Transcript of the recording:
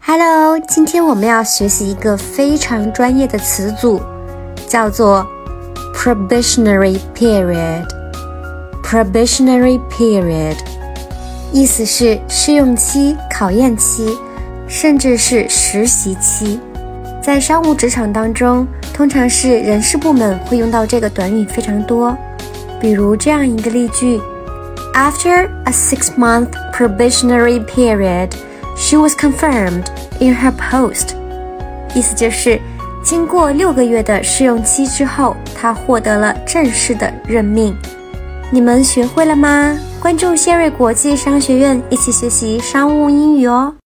Hello， 今天我们要学习一个非常专业的词组，叫做 probationary period。probationary period 意思是试用期、考验期，甚至是实习期。在商务职场当中，通常是人事部门会用到这个短语非常多。比如这样一个例句 ：After a 6-month probationary period, she was confirmed in her post。意思就是经过6个月的试用期之后，她获得了正式的任命。你们学会了吗？关注谢瑞国际商学院，一起学习商务英语哦。